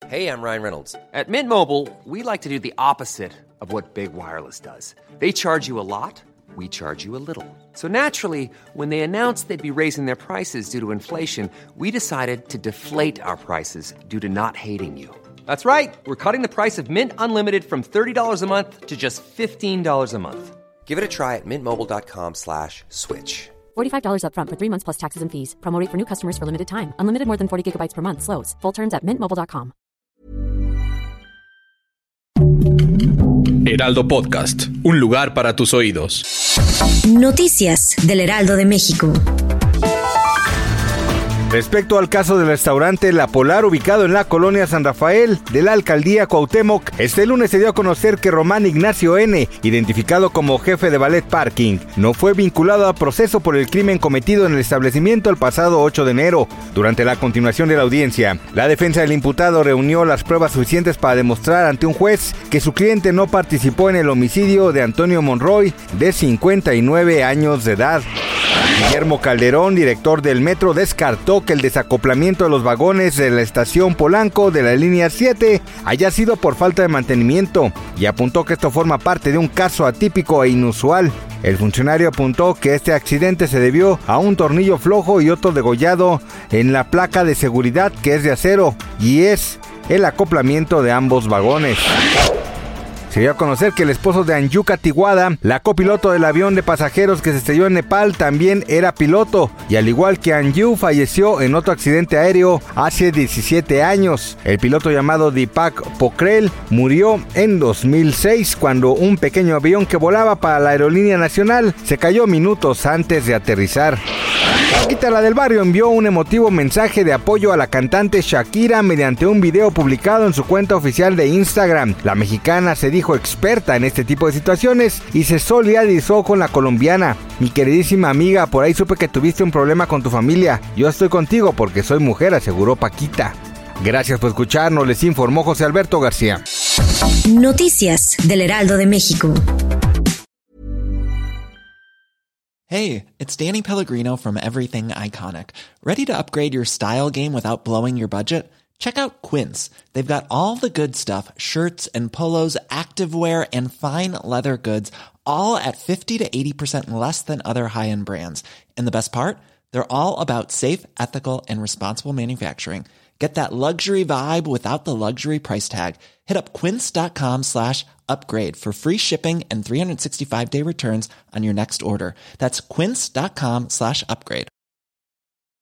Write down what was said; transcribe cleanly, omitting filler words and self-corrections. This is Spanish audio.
Hey, I'm Ryan Reynolds. At Mint Mobile, we like to do the opposite of what Big Wireless does. They charge you a lot, we charge you a little. So naturally, when they announced they'd be raising their prices due to inflation, we decided to deflate our prices due to not hating you. That's right. We're cutting the price of Mint Unlimited from $30 a month to just $15 a month. Give it a try at mintmobile.com/switch. $45 up front for 3 months plus taxes and fees. Promo rate for new customers for limited time. Unlimited more than 40 gigabytes per month. Slows full terms at mintmobile.com. Heraldo Podcast, un lugar para tus oídos. Noticias del Heraldo de México. Respecto al caso del restaurante La Polar, ubicado en la colonia San Rafael de la alcaldía Cuauhtémoc, este lunes se dio a conocer que Román Ignacio N., identificado como jefe de Ballet Parking, no fue vinculado a proceso por el crimen cometido en el establecimiento el pasado 8 de enero. Durante la continuación de la audiencia, la defensa del imputado reunió las pruebas suficientes para demostrar ante un juez que su cliente no participó en el homicidio de Antonio Monroy, de 59 años de edad. Guillermo Calderón, director del metro, descartó que el desacoplamiento de los vagones de la estación Polanco de la línea 7 haya sido por falta de mantenimiento y apuntó que esto forma parte de un caso atípico e inusual. El funcionario apuntó que este accidente se debió a un tornillo flojo y otro degollado en la placa de seguridad, que es de acero, y es el acoplamiento de ambos vagones. Se dio a conocer que el esposo de Anyuka Tiguada, la copiloto del avión de pasajeros que se estrelló en Nepal, también era piloto, y al igual que Anju, falleció en otro accidente aéreo hace 17 años. El piloto llamado Deepak Pokhrel murió en 2006 cuando un pequeño avión que volaba para la aerolínea nacional se cayó minutos antes de aterrizar. Paquita, la del barrio, envió un emotivo mensaje de apoyo a la cantante Shakira mediante un video publicado en su cuenta oficial de Instagram. La mexicana se dijo experta en este tipo de situaciones y se solidarizó con la colombiana. Mi queridísima amiga, por ahí supe que tuviste un problema con tu familia. Yo estoy contigo porque soy mujer, aseguró Paquita. Gracias por escucharnos, les informó José Alberto García. Noticias del Heraldo de México. Hey, it's Danny Pellegrino from Everything Iconic. Ready to upgrade your style game without blowing your budget? Check out Quince. They've got all the good stuff, shirts and polos, activewear, and fine leather goods, all at 50 to 80% less than other high-end brands. And the best part? They're all about safe, ethical, and responsible manufacturing. Get that luxury vibe without the luxury price tag. Hit up quince.com/upgrade for free shipping and 365-day returns on your next order. That's quince.com/upgrade.